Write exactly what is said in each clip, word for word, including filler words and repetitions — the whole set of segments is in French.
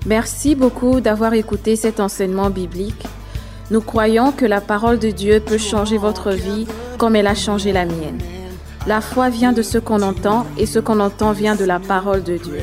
Merci beaucoup d'avoir écouté cet enseignement biblique. Nous croyons que la parole de Dieu peut changer votre vie comme elle a changé la mienne. La foi vient de ce qu'on entend et ce qu'on entend vient de la parole de Dieu.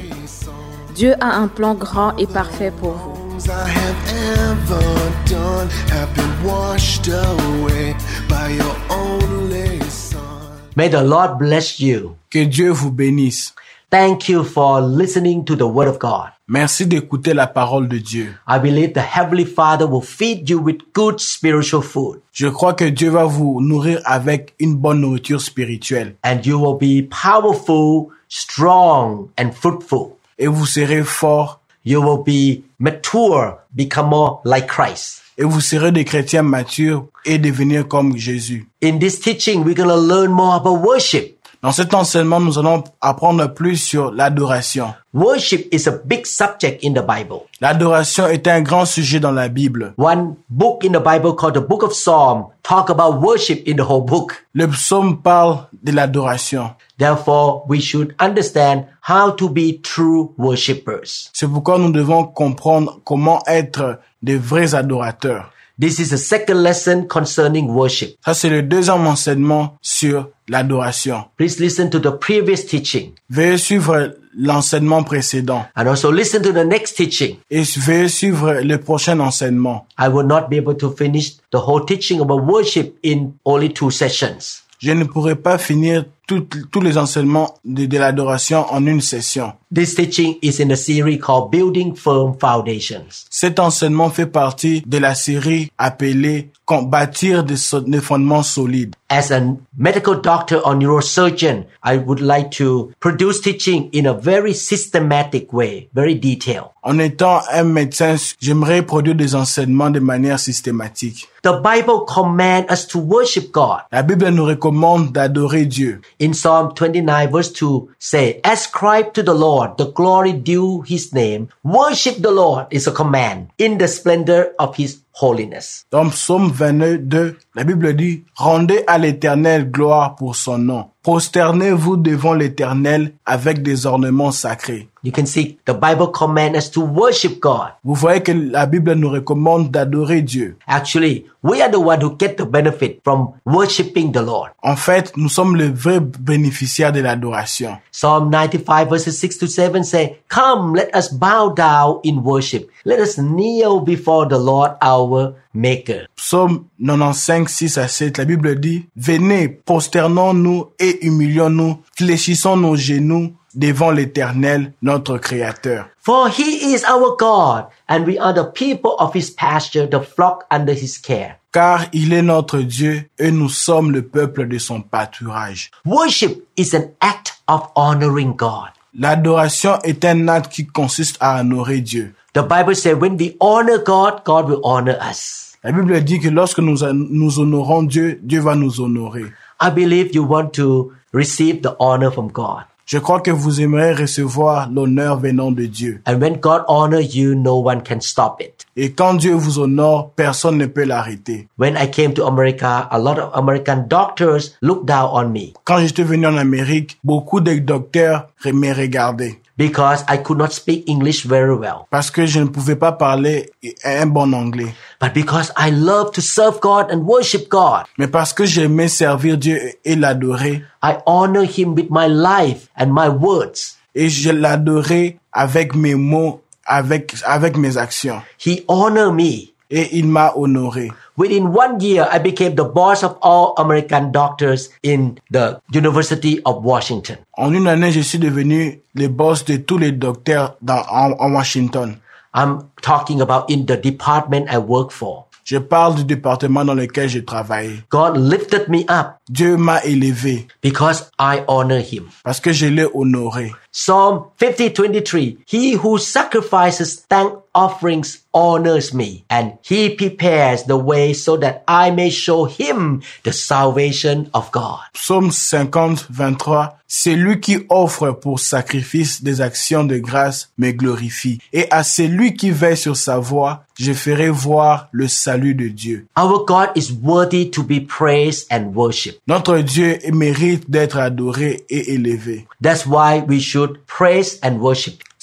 Dieu a un plan grand et parfait pour vous. I have ever done have been washed away by your only son. May the Lord bless you. Que Dieu vous bénisse. Thank you for listening to the Word of God. Merci d'écouter la parole de Dieu. I believe the Heavenly Father will feed you with good spiritual food. Je crois que Dieu va vous nourrir avec une bonne nourriture spirituelle. And you will be powerful, strong, and fruitful. Et vous serez fort. You will be mature, become more like Christ. Et vous serez des chrétiens matures et devenir comme Jésus. In this teaching, we're going to learn more about worship. Dans cet enseignement, nous allons apprendre plus sur l'adoration. Worship is a big subject in the Bible. L'adoration est un grand sujet dans la Bible. One book in the Bible called the Book of Psalms talk about worship in the whole book. Le psaume parle de l'adoration. Therefore, we should understand how to be true worshippers. C'est pourquoi nous devons comprendre comment être des vrais adorateurs. This is the second lesson concerning worship. Ça, c'est le deuxième enseignement sur l'adoration. Please listen to the previous teaching. Veuillez suivre l'enseignement précédent. And also listen to the next teaching. Et veuillez suivre le prochain enseignement. I will not be able to finish the whole teaching about worship in only two sessions. Je ne pourrai pas finir tout, tous les enseignements de, de l'adoration en une session. This teaching is in a series called Building Firm Foundations. Cet enseignement fait partie de la série appelée Bâtir des, so- des fondements solides. As a medical doctor or neurosurgeon, I would like to produce teaching in a very systematic way, very detailed. En étant un médecin, j'aimerais produire des enseignements de manière systématique. The Bible commands us to worship God. La Bible nous recommande d'adorer Dieu. In Psalm twenty-nine verse two say, ascribe to the Lord the glory due his name. Worship the Lord is a command in the splendor of his holiness. Dans Psaume vingt-deux, la Bible dit, rendez à l'Éternel gloire pour son nom. Prosternez-vous devant l'Éternel avec des ornements sacrés. You can see the Bible commands us to worship God. Vous voyez que la Bible nous recommande d'adorer Dieu. Actually, we are the one who get the benefit from worshiping the Lord. En fait, nous sommes les vrais bénéficiaires de l'adoration. Psalm ninety-five verses six to seven say, come, let us bow down in worship. Let us kneel before the Lord our Maker. Psaume quatre-vingt-quinze, six à sept, la Bible dit, venez, prosternons-nous et humilions-nous, fléchissons nos genoux devant l'Éternel, notre Créateur. For he is our God, and we are the people of his pasture, the flock under his care. Car il est notre Dieu et nous sommes le peuple de son pâturage. Worship is an act of honoring God. L'adoration est un acte qui consiste à honorer Dieu. The Bible says when we honor God, God will honor us. La Bible dit que lorsque nous, nous honorons Dieu, Dieu va nous honorer. I believe you want to receive the honor from God. Je crois que vous aimeriez recevoir l'honneur venant de Dieu. And when God honors you, no one can stop it. Et quand Dieu vous honore, personne ne peut l'arrêter. When I came to America, a lot of American doctors looked down on me. Quand j'étais venu en Amérique, beaucoup de docteurs me regardaient. Because I could not speak English very well. Parce que je ne pouvais pas parler un bon anglais. But because I love to serve God and worship God. Mais parce que j'aimais servir Dieu et l'adorer. I honor him with my life and my words. Et je l'adorais avec mes mots, avec, avec mes actions. He honored me. Et il m'a honoré. Within one year, I became the boss of all American doctors in the University of Washington. En une année, je suis devenu le boss de tous les docteurs dans, en, en Washington. I'm talking about in the department I work for. Je parle du département dans lequel je travaille. God lifted me up. Dieu m'a élevé. Because I honor him. Parce que je l'ai honoré. Psalm fifty twenty-three. He who sacrifices thank offerings honors me, and he prepares the way so that I may show him the salvation of God. Psaume cinquante, vingt-trois. C'est lui qui offre pour sacrifice des actions de grâce me glorifie. Et à celui qui veille sur sa voie, je ferai voir le salut de Dieu. Our God is worthy to be praised and worshipped. Notre Dieu mérite d'être adoré et élevé. That's why we should praise and worship.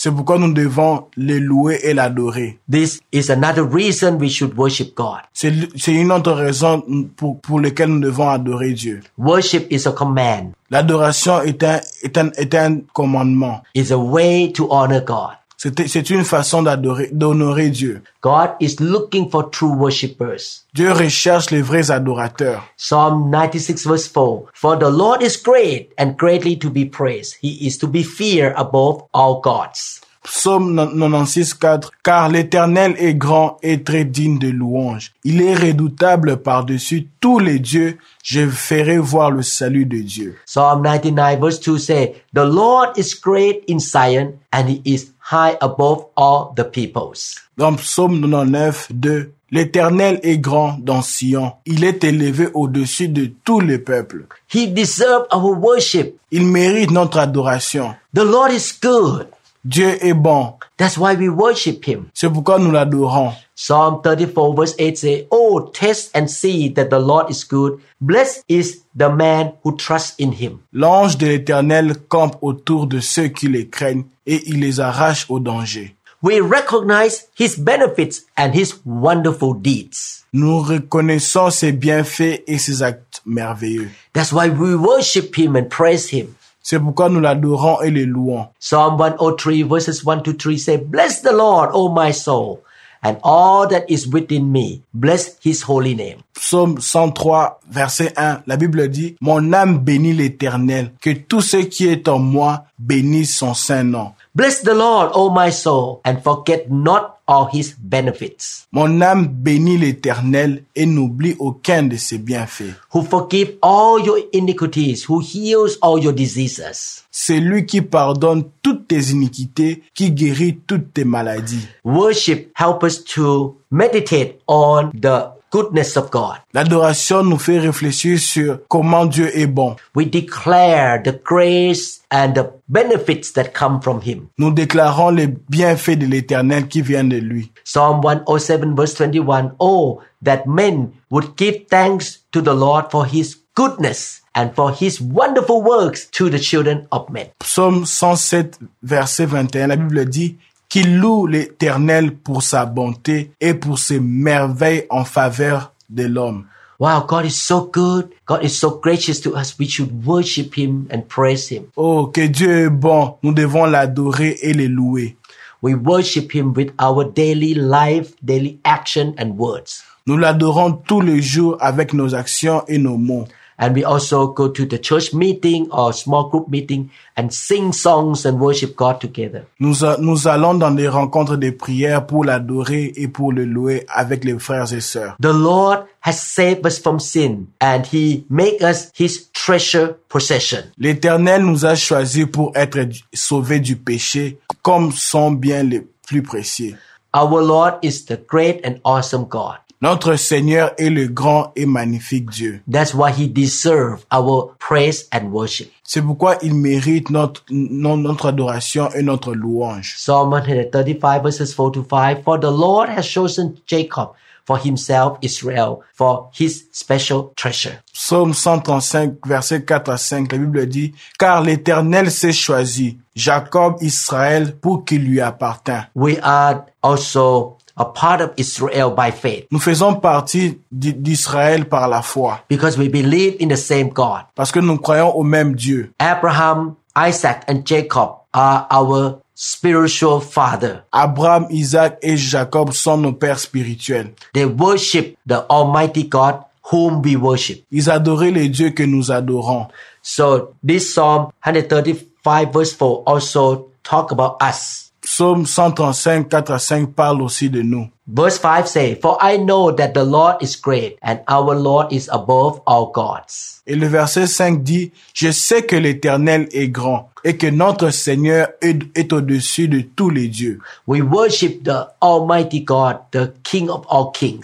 C'est pourquoi nous devons le louer et l'adorer. This is another reason we should worship God. C'est, c'est une autre raison pour, pour laquelle nous devons adorer Dieu. Worship is a command. L'adoration est un, est un, est un commandement. It's a way to honor God. C'est, c'est une façon d'adorer, d'honorer Dieu. God is looking for true worshippers. Dieu recherche les vrais adorateurs. Psalm ninety-six verse four. For the Lord is great and greatly to be praised. He is to be feared above all gods. Psaume quatre-vingt-seize quatre. Car l'Éternel est grand et très digne de louange. Il est redoutable par-dessus tous les dieux. Je ferai voir le salut de Dieu. Psalm ninety-nine verse two say, The Lord is great in Zion and he is high above all the peoples. Dans Psaume quatre-vingt-dix-neuf deux. L'Éternel est grand dans Sion. Il est élevé au-dessus de tous les peuples. He deserves our worship. Il mérite notre adoration. The Lord is good. Dieu est bon. That's why we worship him. C'est pourquoi nous l'adorons. Psalm thirty-four verse eight say, Oh, taste and see that the Lord is good. Blessed is the man who trusts in him. L'ange de l'Éternel campe autour de ceux qui les craignent et il les arrache au danger. We recognize his benefits and his wonderful deeds. Nous reconnaissons ses bienfaits et ses actes merveilleux. That's why we worship him and praise him. C'est pourquoi nous l'adorons et le louons. Psalm one oh three verses one to three say, Bless the Lord, O my soul, and all that is within me. Bless his holy name. Psaume cent trois, verset un, la Bible dit, Mon âme bénit l'Éternel, que tout ce qui est en moi bénisse son saint nom. Bless the Lord, O my soul, and forget not all his benefits. Mon âme bénit l'Éternel et n'oublie aucun de ses bienfaits. Who forgive all your iniquities, who heals all your diseases. C'est lui qui pardonne toutes tes iniquités, qui guérit toutes tes maladies. Worship help us to meditate on the goodness of God. L'adoration nous fait réfléchir sur comment Dieu est bon. We declare the grace and the benefits that come from him. Nous déclarons les bienfaits de l'Éternel qui viennent de lui. Psalm one oh seven verse twenty-one. Oh, that men would give thanks to the Lord for his goodness and for his wonderful works to the children of men. Psaume cent sept, verset vingt et un, la Bible dit, qu'il loue l'Éternel pour sa bonté et pour ses merveilles en faveur de l'homme. Wow, God is so good. God is so gracious to us. We should worship him and praise him. Oh, que Dieu est bon. Nous devons l'adorer et le louer. We worship him with our daily life, daily action and words. Nous l'adorons tous les jours avec nos actions et nos mots. And we also go to the church meeting or small group meeting and sing songs and worship God together. Nous, a, nous allons dans des rencontres de prière pour l'adorer et pour le louer avec les frères et sœurs. The Lord has saved us from sin and he make us his treasure possession. L'Éternel nous a choisis pour être sauvés du péché comme son bien le plus précieux. Our Lord is the great and awesome God. Notre Seigneur est le grand et magnifique Dieu. That's why he deserves our praise and worship. C'est pourquoi il mérite notre, notre adoration et notre louange. Psalm one thirty-five verses four to five. For the Lord has chosen Jacob for himself, Israel, for his special treasure. Psaume cent trente-cinq, versets quatre à cinq, la Bible dit, car l'Éternel s'est choisi, Jacob, Israël, pour qu'il lui appartint. We are also a part of Israel by faith. Nous faisons partie d'Israël par la foi. Because we believe in the same God. Parce que nous croyons au même Dieu. Abraham, Isaac, and Jacob are our spiritual father. Abraham, Isaac et Jacob sont nos pères spirituels. They worship the Almighty God whom we worship. Ils adoraient les dieux que nous adorons. So this Psalm one thirty-five verse four also talk about us. Psaume cent trente-cinq, quatre à cinq parle aussi de nous. Verse five say, For I know that the Lord is great and our Lord is above all gods. Et le verset cinq dit, je sais que l'Éternel est grand et que notre Seigneur est, est au-dessus de tous les dieux. We worship the Almighty God, the King of all kings.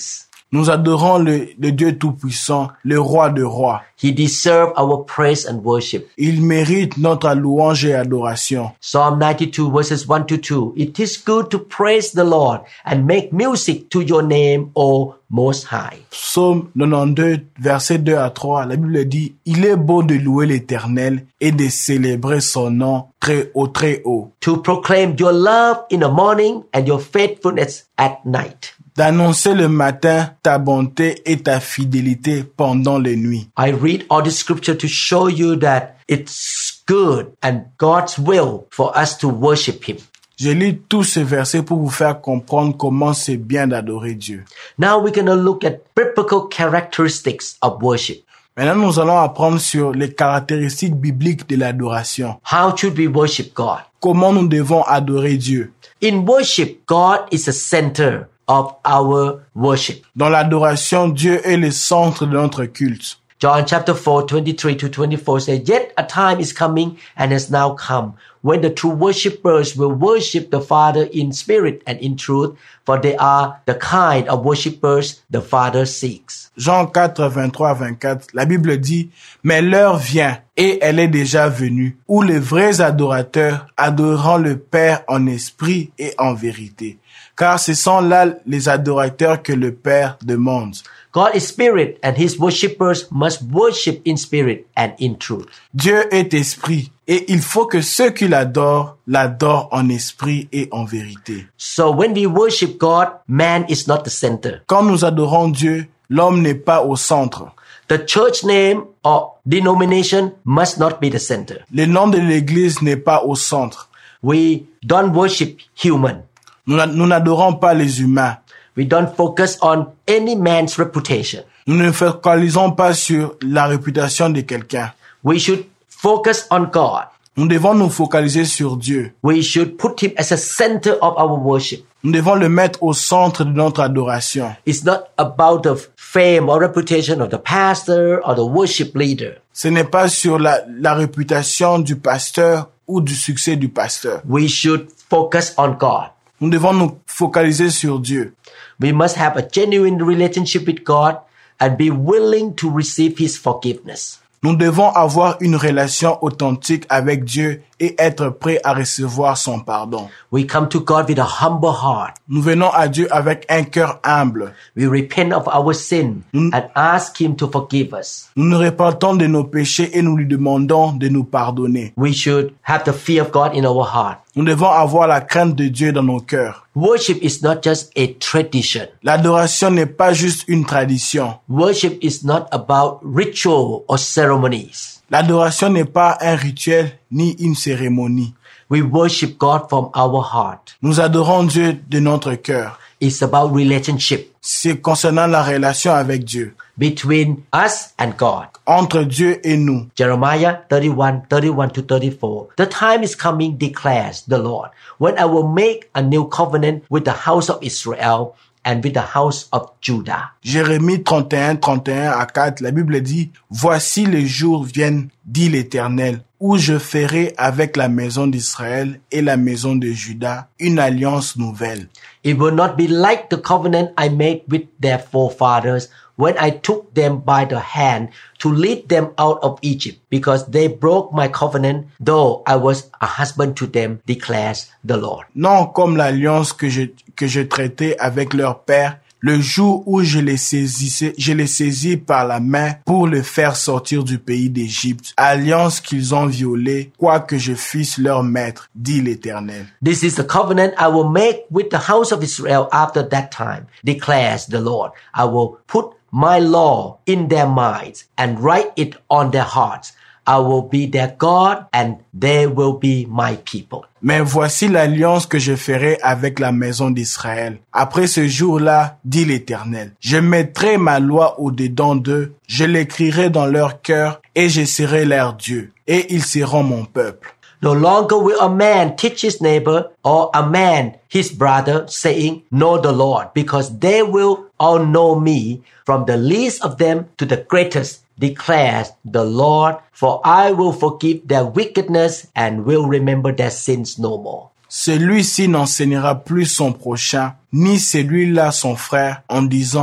Nous adorons le, le Dieu Tout-Puissant, le Roi de rois. He deserves our praise and worship. Il mérite notre louange et adoration. Psalm ninety-two verses one to two. It is good to praise the Lord and make music to your name, O Most High. Psaume quatre-vingt-douze, versets deux à trois, la Bible dit, « Il est beau de louer l'Éternel et de célébrer son nom très haut, très haut. » To proclaim your love in the morning and your faithfulness at night. D'annoncer le matin ta bonté et ta fidélité pendant les nuits. I read all the scripture to show you that it's good and God's will for us to worship Him. Je lis tous ces versets pour vous faire comprendre comment c'est bien d'adorer Dieu. Now we're going to look at biblical characteristics of worship. Maintenant, nous allons apprendre sur les caractéristiques bibliques de l'adoration. How should we worship God? Comment nous devons adorer Dieu. In worship, God is the center of our worship. Dans l'adoration, Dieu est le centre de notre culte. John chapter four, twenty-three to twenty-four says, Yet a time is coming and has now come when the true worshippers will worship the Father in spirit and in truth, for they are the kind of worshippers the Father seeks. Jean quatre, vingt-trois à vingt-quatre, la Bible dit, « Mais l'heure vient, et elle est déjà venue, où les vrais adorateurs adoreront le Père en esprit et en vérité. Car ce sont là les adorateurs que le Père demande. » God is spirit and his worshippers must worship in spirit and in truth. Dieu est esprit et il faut que ceux qui l'adorent l'adorent en esprit et en vérité. So when we worship God, man is not the center. Quand nous adorons Dieu, l'homme n'est pas au centre. The church name or denomination must not be the center. Le nom de l'église n'est pas au centre. We don't worship human. Nous, nous n'adorons pas les humains. We don't focus on any man's reputation. Nous ne focalisons pas sur la réputation de quelqu'un. We should focus on God. Nous devons nous focaliser sur Dieu. We should put him as a center of our worship. Nous devons le mettre au centre de notre adoration. It's not about the fame or reputation of the pastor or the worship leader. Ce n'est pas sur la, la réputation du pasteur ou du succès du pasteur. We should focus on God. Nous devons nous focaliser sur Dieu. We must have a genuine relationship with God and be willing to receive his forgiveness. Nous devons avoir une relation authentique avec Dieu et être prêts à recevoir son pardon. We come to God with a humble heart. Nous venons à Dieu avec un cœur humble. We repent of our sin Mm. and ask him to forgive us. Nous nous repentons de nos péchés et nous lui demandons de nous pardonner. We should have the fear of God in our heart. Nous devons avoir la crainte de Dieu dans nos cœurs. Worship is not just a tradition. L'adoration n'est pas juste une tradition. Worship is not about ritual or ceremonies. L'adoration n'est pas un rituel ni une cérémonie. We worship God from our heart. Nous adorons Dieu de notre cœur. It's about relationship C'est concernant la relation avec Dieu, between us and God. entre Dieu et nous. Jeremiah thirty-one, thirty-one to thirty-four. The time is coming, declares the Lord, when I will make a new covenant with the house of Israel and with the house of Judah. Jérémie trente et un, trente et un à quatre, la Bible dit, « Voici les jours viennent, dit l'Éternel, où je ferai avec la maison d'Israël et la maison de Juda une alliance nouvelle. It will not be like the covenant I made with their forefathers when I took them by the hand to lead them out of Egypt, because they broke my covenant, though I was a husband to them, declares the Lord. Non comme l'alliance que je, que je traitais avec leur père, le jour où je les saisissais, je les saisis par la main pour les faire sortir du pays d'Égypte, alliance qu'ils ont violée, quoique je fusse leur maître, dit l'Éternel. This is the covenant I will make with the house of Israel after that time, declares the Lord. I will put my law in their minds and write it on their hearts. I will be their God and they will be my people. Mais voici l'alliance que je ferai avec la maison d'Israël. Après ce jour-là, dit l'Éternel, je mettrai ma loi au-dedans d'eux, je l'écrirai dans leur cœur et je serai leur Dieu, et ils seront mon peuple. No longer will a man teach his neighbor or a man his brother, saying, Know the Lord, because they will all know me, from the least of them to the greatest, declares the Lord, for I will forgive their wickedness and will remember their sins no more. Celui-ci n'enseignera plus son prochain, ni celui-là son frère, en disant,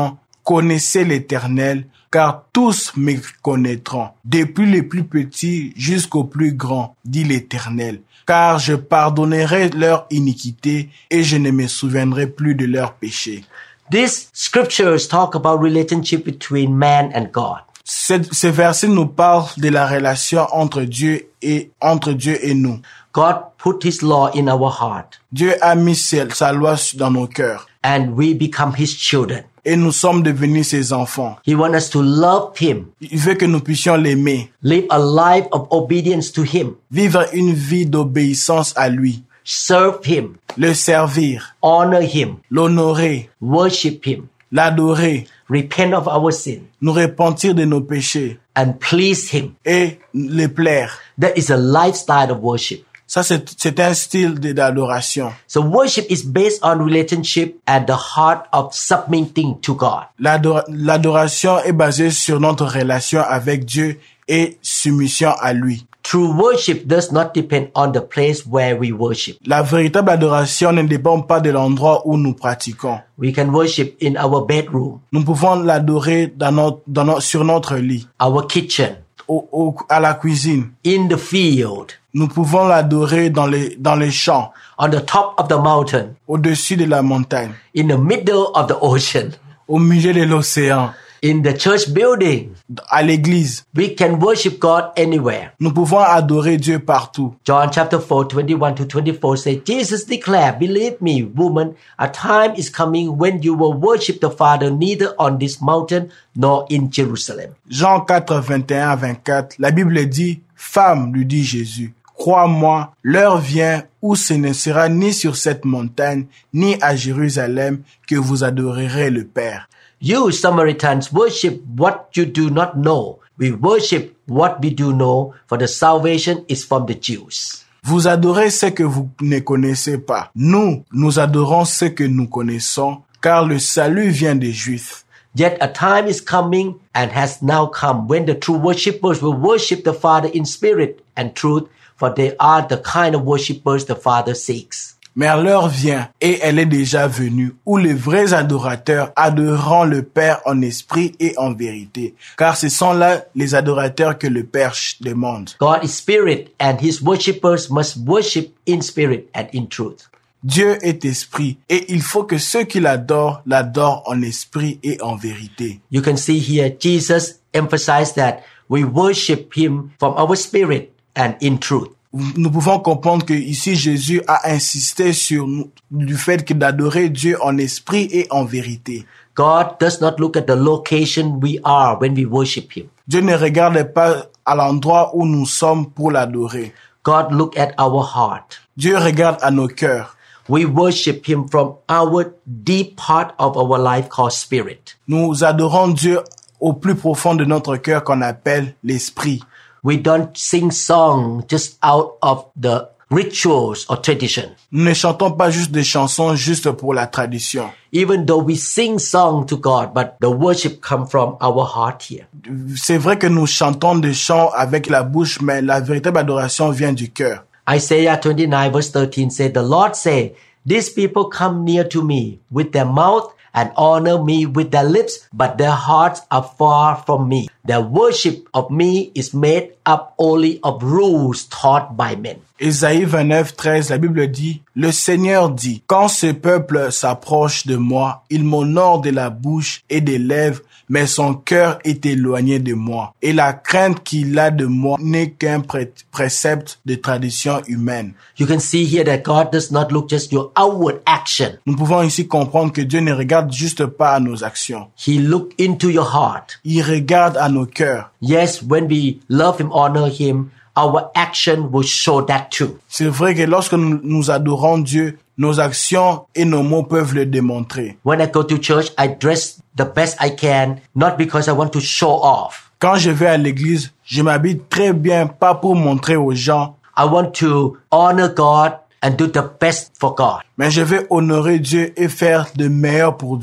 connaissez l'Éternel, car tous me connaîtront, depuis les plus petits jusqu'aux plus grands, dit l'Éternel. Car je pardonnerai leur iniquité et je ne me souviendrai plus de leurs péchés. These scriptures talk about relationship between man and God. Ces, ces versets nous parlent de la relation entre Dieu et entre Dieu et nous. God put his law in our heart, Dieu a mis sa, sa loi dans nos cœurs and we become his children. et nous sommes devenus ses enfants. He wants us to love him, Il veut que nous puissions l'aimer, live a life of obedience to him, vivre une vie d'obéissance à lui, serve him, le servir, honor him, l'honorer, worship him, l'adorer, repent of our sin, nous repentir de nos péchés and please him. et le plaire. That is a lifestyle of worship. Ça, c'est, c'est un style de- d'adoration. So worship is based on relationship and the heart of submitting to God. L'adora- L'adoration est basée sur notre relation avec Dieu et soumission à lui. True worship does not depend on the place where we worship. La véritable adoration ne dépend pas de l'endroit où nous pratiquons. We can worship in our bedroom, Nous pouvons l'adorer dans notre, dans notre, sur notre lit, our kitchen, au, au, à la cuisine. in the field, Nous pouvons l'adorer dans les, dans les champs, on the top of the mountain, au-dessus de la montagne, in the middle of the ocean, au milieu de l'océan, in the church building. à l'église. We can worship God anywhere. Nous pouvons adorer Dieu partout. John chapter four, twenty-one to twenty-four says, Jesus declared, believe me, woman, a time is coming when you will worship the Father neither on this mountain nor in Jerusalem. Jean quatre, vingt et un à vingt-quatre, la Bible dit, « Femme, lui dit Jésus, crois-moi, l'heure vient où ce ne sera ni sur cette montagne, ni à Jérusalem que vous adorerez le Père. You Samaritans worship what you do not know. We worship what we do know, for the salvation is from the Jews. Vous adorez ce que vous ne connaissez pas. Nous, nous adorons ce que nous connaissons, car le salut vient des Juifs. Yet a time is coming and has now come when the true worshippers will worship the Father in spirit and truth, for they are the kind of worshippers the Father seeks. Mais l'heure vient, et elle est déjà venue, où les vrais adorateurs adoreront le Père en esprit et en vérité, car ce sont là les adorateurs que le Père demande. God is spirit, and his worshippers must worship in spirit and in truth. Dieu est esprit, et il faut que ceux qui l'adorent, l'adorent en esprit et en vérité. You can see here Jesus emphasized that we worship him from our spirit and in truth. Nous pouvons comprendre que ici Jésus a insisté sur nous, du fait que d'adorer Dieu en esprit et en vérité. God does not look at the location we are when we worship him. Dieu ne regarde pas à l'endroit où nous sommes pour l'adorer. God look at our heart. Dieu regarde à nos cœurs. We worship him from our deep part of our life called spirit. Nous adorons Dieu au plus profond de notre cœur qu'on appelle l'esprit. We don't sing songs just out of the rituals or tradition. Nous ne chantons pas juste des chansons juste pour la tradition. Even though we sing songs to God, but the worship comes from our heart here. C'est vrai que nous chantons des chants avec la bouche, mais la véritable adoration vient du cœur. Isaiah twenty-nine verse thirteen said, the Lord said, these people come near to me with their mouth and honor me with their lips, but their hearts are far from me. Their worship of me is made up only of rules taught by men. Ésaïe vingt-neuf, treize, la Bible dit, « Le Seigneur dit, quand ce peuple s'approche de moi, il m'honore de la bouche et des lèvres, mais son cœur est éloigné de moi. Et la crainte qu'il a de moi n'est qu'un pré- précepte de tradition humaine. » You can see here that God does not look just your outward action. Nous pouvons ici comprendre que Dieu ne regarde juste pas à nos actions. He look into your heart. Il regarde à nos cœurs. Yes, when we love him, honor him, our action will show that too. C'est vrai que lorsque nous, nous adorons Dieu, nos actions et nos mots peuvent le démontrer. When I go to church, I dress the best I can, not because I want to show off. Quand je vais à l'église, je m'habille très bien, pas pour montrer aux gens, I want to honor God and do the best for God. mais je vais honorer Dieu et faire de meilleur pour Dieu.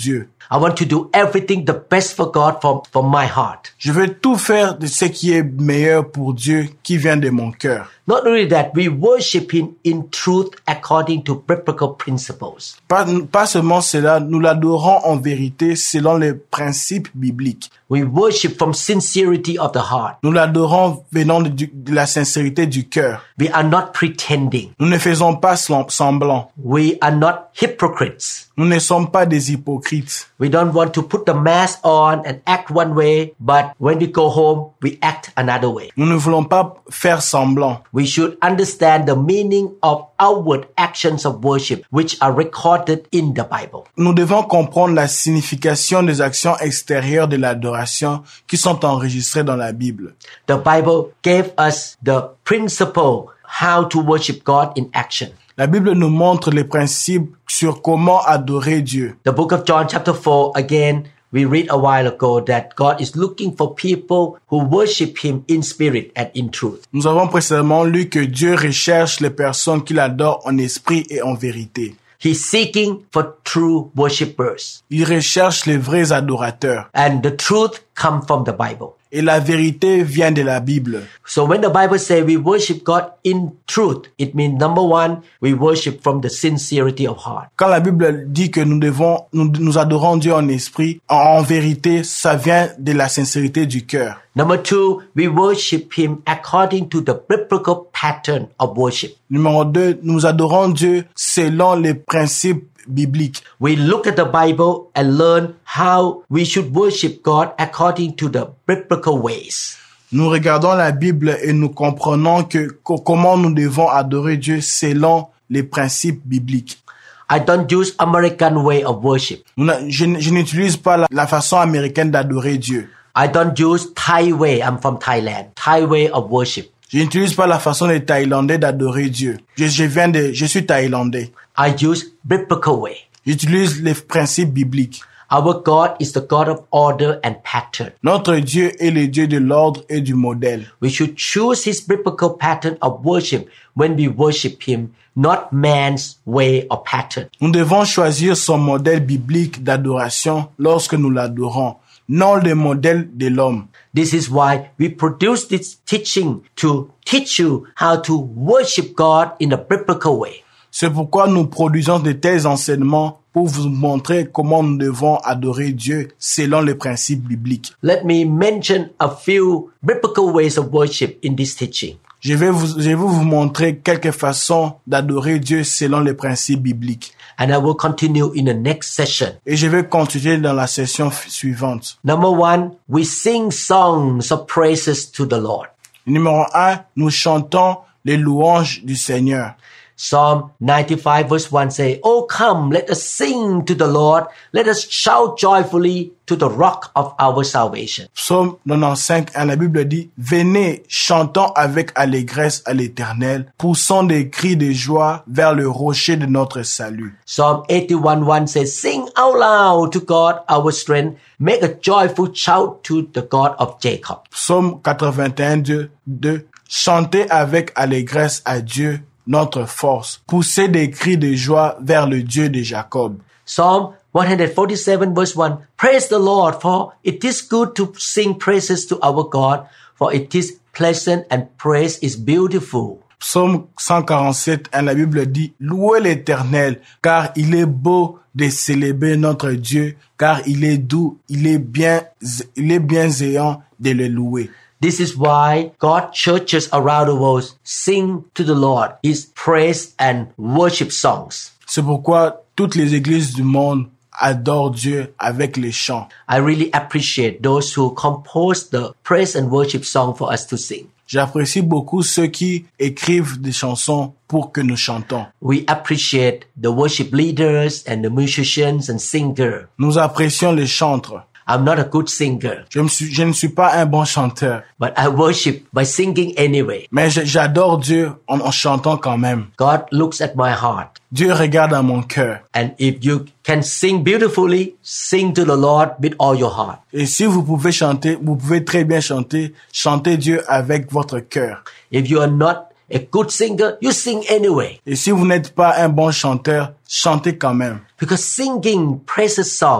I want to do everything the best for God from, from my heart. Je veux tout faire de ce qui est meilleur pour Dieu, qui vient de mon cœur. Not only that, we worship Him in truth according to biblical principles. Pas, pas seulement cela, nous l'adorons en vérité selon les principes bibliques. We worship from sincerity of the heart. Nous l'adorons venant de, de la sincérité du cœur. We are not pretending. Nous ne faisons pas semblant. We are not hypocrites. Nous ne sommes pas des hypocrites. We don't want to put the mask on and act one way, but when we go home, we act another way. Nous ne voulons pas faire semblant. We should understand the meaning of outward actions of worship, which are recorded in the Bible. Nous devons comprendre la signification des actions extérieures de l'adoration qui sont enregistrées dans la Bible. The Bible gave us the principle how to worship God in action. La Bible nous montre les principes sur comment adorer Dieu. The book of John chapter four, again, we read a while ago that God is looking for people who worship Him in spirit and in truth. Nous avons précédemment lu que Dieu recherche les personnes qui l'adorent en esprit et en vérité. He's seeking for true worshipers. Il recherche les vrais adorateurs. And the truth comes from the Bible. Et la vérité vient de la Bible. So when the Bible says we worship God in truth, it means number one, we worship from the sincerity of heart. Quand la Bible dit que nous devons, nous, nous adorons Dieu en esprit, en, en vérité, ça vient de la sincérité du cœur. Number two, we worship Him according to the biblical pattern of worship. Numéro deux, nous adorons Dieu selon les principes biblique. We look at the Bible and learn how we should worship God according to the biblical ways. Nous regardons la Bible et nous comprenons que, que comment nous devons adorer Dieu selon les principes bibliques. I don't use American way of worship. Je, je n'utilise pas la, la façon américaine d'adorer Dieu. I don't use Thai way. I'm from Thailand. Thai way of worship. Je n'utilise pas la façon des Thaïlandais d'adorer Dieu. Je, je viens de, je suis Thaïlandais. I use biblical way. J'utilise les principes bibliques. Our God is the God of order and pattern. Notre Dieu est le Dieu de l'ordre et du modèle. We should choose His biblical pattern of worship when we worship Him, not man's way or pattern. Nous devons choisir son modèle biblique d'adoration lorsque nous l'adorons, non le modèle de l'homme. This is why we produce this teaching to teach you how to worship God in a biblical way. C'est pourquoi nous produisons de tels enseignements pour vous montrer comment nous devons adorer Dieu selon les principes bibliques. Let me mention a few biblical ways of worship in this teaching. Je vais vous, je vais vous montrer quelques façons d'adorer Dieu selon les principes bibliques. And I will continue in the next session. Et je vais continuer dans la session suivante. Number one, we sing songs of praises to the Lord. Numéro un, nous chantons les louanges du Seigneur. Psalm ninety-five verse one say, "Oh come, let us sing to the Lord. Let us shout joyfully to the rock of our salvation." Psaume quatre-vingt-quinze, la Bible dit, venez, chantons avec allégresse à l'Éternel, poussons des cris de joie vers le rocher de notre salut. Psalm eighty-one one says, "Sing out loud to God our strength. Make a joyful shout to the God of Jacob." Psaume quatre-vingt-un, deux, chantez avec allégresse à Dieu, notre force. Poussez des cris de joie vers le Dieu de Jacob. Psalm one forty-seven verse one. Praise the Lord, for it is good to sing praises to our God, for it is pleasant and praise is beautiful. Psaume cent quarante-sept, la Bible dit, louez l'Éternel, car il est beau de célébrer notre Dieu, car il est doux, il est bien, il est bienséant de le louer. This is why God churches around the world sing to the Lord His praise and worship songs. C'est pourquoi toutes les églises du monde adorent Dieu avec les chants. I really appreciate those who compose the praise and worship song for us to sing. J'apprécie beaucoup ceux qui écrivent des chansons pour que nous chantons. We appreciate the worship leaders and the musicians and singers. Nous apprécions les chantres. I'm not a good singer. Je, me suis, je ne suis pas un bon chanteur. But I worship by singing anyway. Mais j'adore Dieu en, en chantant quand même. God looks at my heart. Dieu regarde à mon cœur. And if you can sing beautifully, sing to the Lord with all your heart. Et si vous pouvez chanter, vous pouvez très bien chanter, chantez Dieu avec votre cœur. If you are not a good singer, you sing anyway. Et si vous n'êtes pas un bon chanteur, chantez quand même. Because singing praises song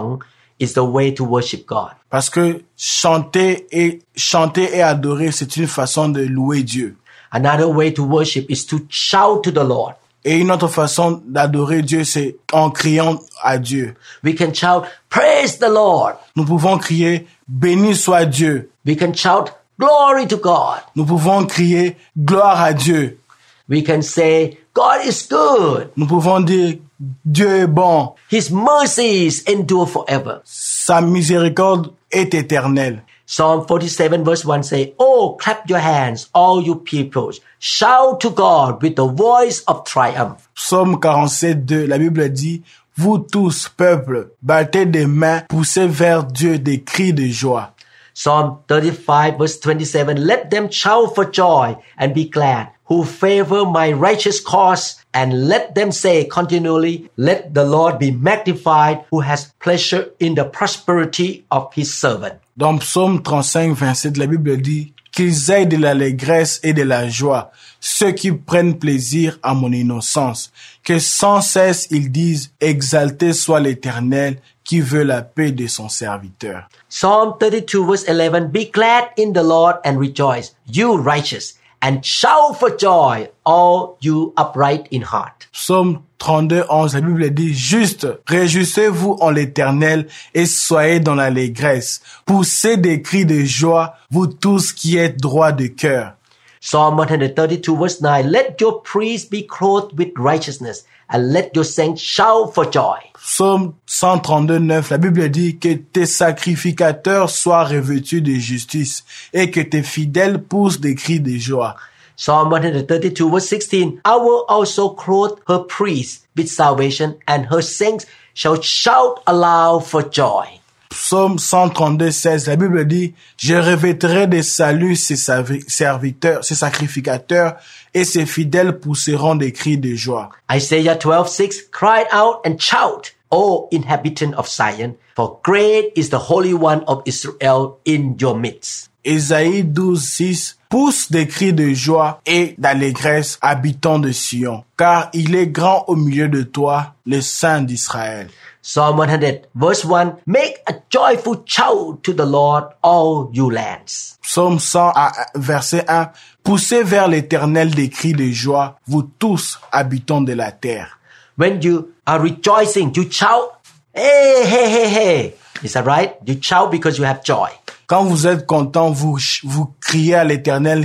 is the way to worship God. Parce que chanter et chanter et adorer, c'est une façon de louer Dieu. Another way to worship is to shout to the Lord. Et une autre façon d'adorer Dieu, c'est en criant à Dieu. We can shout, praise the Lord. Nous pouvons crier, béni soit Dieu. We can shout, glory to God. Nous pouvons crier, gloire à Dieu. We can say, God is good. Nous pouvons dire, Dieu est bon. His mercies endure forever. Sa miséricorde est éternelle. Psalm forty-seven verse one say, oh, clap your hands, all you peoples. Shout to God with the voice of triumph. Psaume quarante-sept, deux, la Bible dit, vous tous, peuple, battez des mains, poussez vers Dieu des cris de joie. Psalm thirty-five verse twenty-seven, let them shout for joy and be glad, who favor my righteous cause, and let them say continually, let the Lord be magnified, who has pleasure in the prosperity of his servant. Dans Psaume trente-cinq, vingt-sept, la Bible dit, qu'ils aient de l'allégresse et de la joie, ceux qui prennent plaisir à mon innocence, que sans cesse ils disent, exalté soit l'Éternel, qui veut la paix de son serviteur. Psalm thirty-two verse eleven, be glad in the Lord and rejoice, you righteous, and shout for joy, all you upright in heart. Psaume trente-deux, onze, la Bible dit, juste, réjouissez-vous en l'Éternel et soyez dans l'allégresse. Poussez des cris de joie, vous tous qui êtes droits de cœur. Psalm one thirty-two verse nine, let your priests be clothed with righteousness, and let your saints shout for joy. Psaume cent trente-deux, neuf, la Bible dit que tes sacrificateurs soient revêtus de justice et que tes fidèles poussent des cris de joie. Psalm one thirty-two verse sixteen, I will also clothe her priests with salvation, and her saints shall shout aloud for joy. Psaume cent trente-deux, seize, la Bible dit, je revêterai de salut ses serviteurs, ses sacrificateurs, et ses fidèles pousseront des cris de joie. Isaiah twelve six, cry out and shout, O inhabitant of Zion, for great is the Holy One of Israel in your midst. Ésaïe douze six, pousse des cris de joie et d'allégresse, habitants de Sion, car il est grand au milieu de toi, le Saint d'Israël. Psalm one hundred verse one, make a joyful shout to the Lord, all you lands. Psaume cent, verset un, poussez vers l'Éternel des cris de joie, vous tous, habitants de la terre. When you are rejoicing, you shout, hey, hey, hey, hey. Is that right? You shout because you have joy. Quand vous êtes content, vous, vous criez à l'Éternel,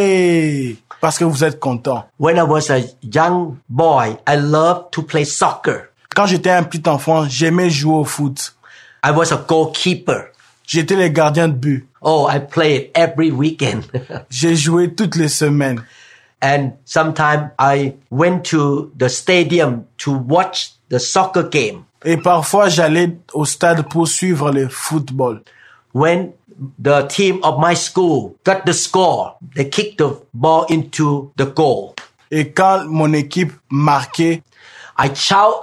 yeah, parce que vous êtes content. When I was a young boy, I loved to play soccer. Quand j'étais un petit enfant, j'aimais jouer au foot. I was a goalkeeper. J'étais le gardien de but. Oh, I played every weekend. J'ai joué toutes les semaines. And sometimes I went to the stadium to watch the soccer game. Et parfois, j'allais au stade pour suivre le football. When the team of my school got the score, they kicked the ball into the goal. Et quand mon équipe marquait, I shout,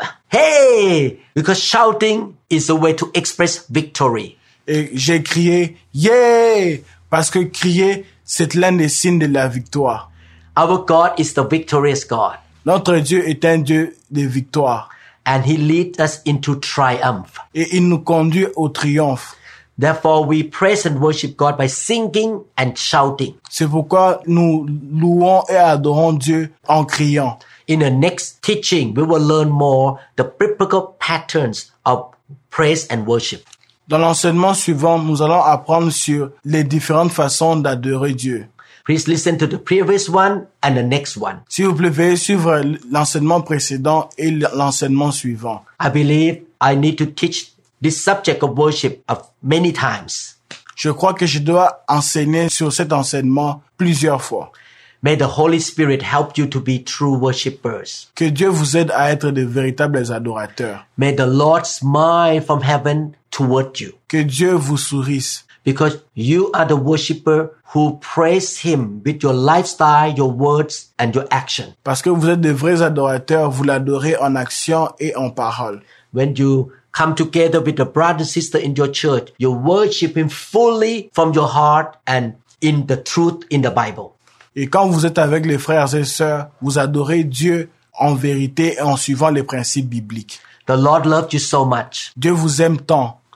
hey, because shouting is a way to express victory. Et j'ai crié, yeah, parce que crier, c'est l'un des signes de la victoire. Our God is the victorious God. Notre Dieu est un Dieu de victoire. And he leads us into triumph. Et il nous conduit au triomphe. Therefore, we praise and worship God by singing and shouting. C'est pourquoi nous louons et adorons Dieu en criant. In the next teaching, we will learn more the biblical patterns of praise and worship. Dans l'enseignement suivant, nous allons apprendre sur les différentes façons d'adorer Dieu. Please listen to the previous one and the next one. S'il vous plaît, veuillez suivre l'enseignement précédent et l'enseignement suivant. I believe I need to teach this subject of worship of many times. Je crois que je dois enseigner sur cet enseignement plusieurs fois. May the Holy Spirit help you to be true worshipers. Que Dieu vous aide à être de véritables adorateurs. May the Lord smile from heaven toward you. Que Dieu vous sourisse. Because you are the worshiper who praise Him with your lifestyle, your words, and your action. Parce que vous êtes de vrais adorateurs, vous l'adorez en action et en parole. When you come together with a brother and sister in your church, you worship Him fully from your heart and in the truth in the Bible. Et quand vous êtes avec les frères et sœurs, vous adorez Dieu en vérité et en suivant les principes bibliques. The Lord loved you so much. Dieu vous aime tant.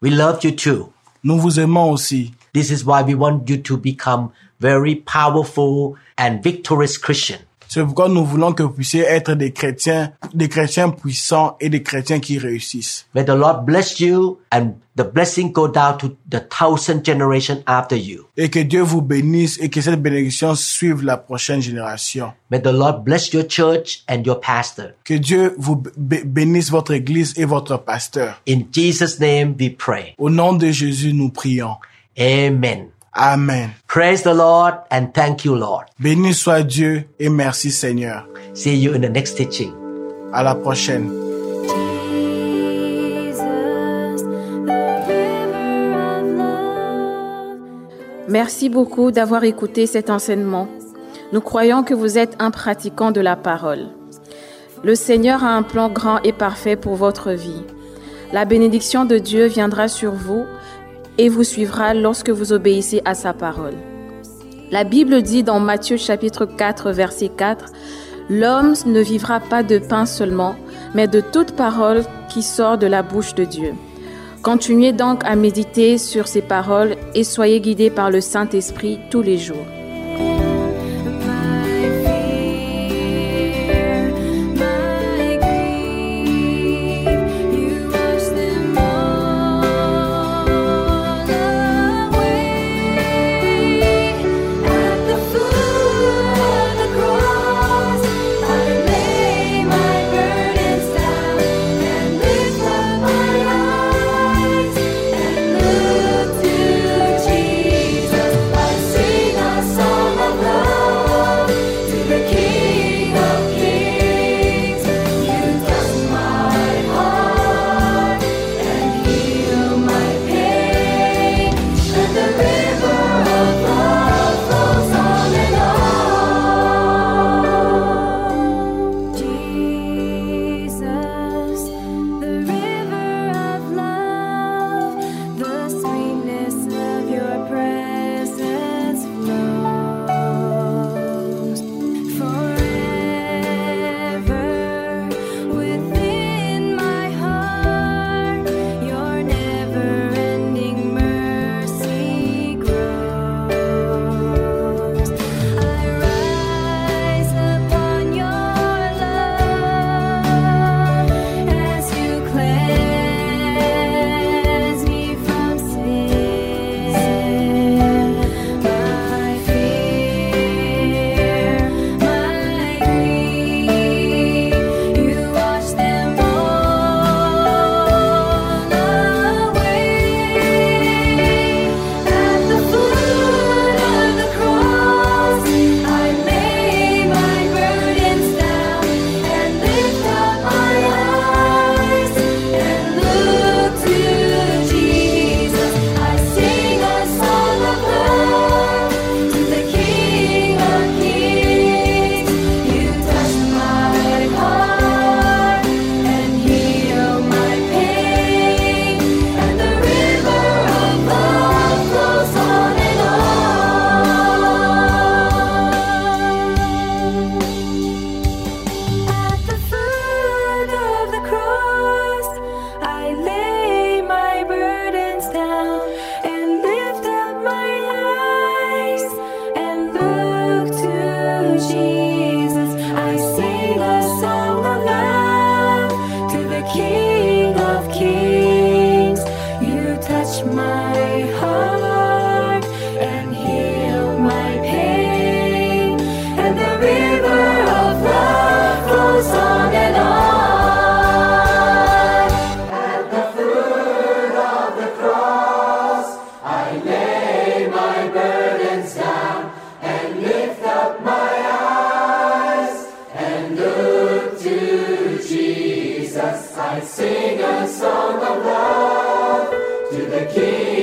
We love you too. Nous vous aimons aussi. This is why we want you to become very powerful and victorious Christian. C'est pourquoi nous voulons que vous puissiez être des chrétiens, des chrétiens puissants et des chrétiens qui réussissent. May the Lord bless you and the blessing go down to the thousand generation after you. Et que Dieu vous bénisse et que cette bénédiction suive la prochaine génération. May the Lord bless your church and your pastor. Que Dieu vous b- bénisse votre église et votre pasteur. In Jesus' name we pray. Au nom de Jésus, nous prions. Amen. Amen. Praise the Lord and thank you, Lord. Béni soit Dieu et merci Seigneur. See you in the next teaching. À la prochaine. Merci beaucoup d'avoir écouté cet enseignement. Nous croyons que vous êtes un pratiquant de la parole. Le Seigneur a un plan grand et parfait pour votre vie. La bénédiction de Dieu viendra sur vous et vous suivra lorsque vous obéissez à sa parole. La Bible dit dans Matthieu chapitre quatre, verset quatre, « L'homme ne vivra pas de pain seulement, mais de toute parole qui sort de la bouche de Dieu. » Continuez donc à méditer sur ces paroles et soyez guidés par le Saint-Esprit tous les jours. I sing a song of love to the King.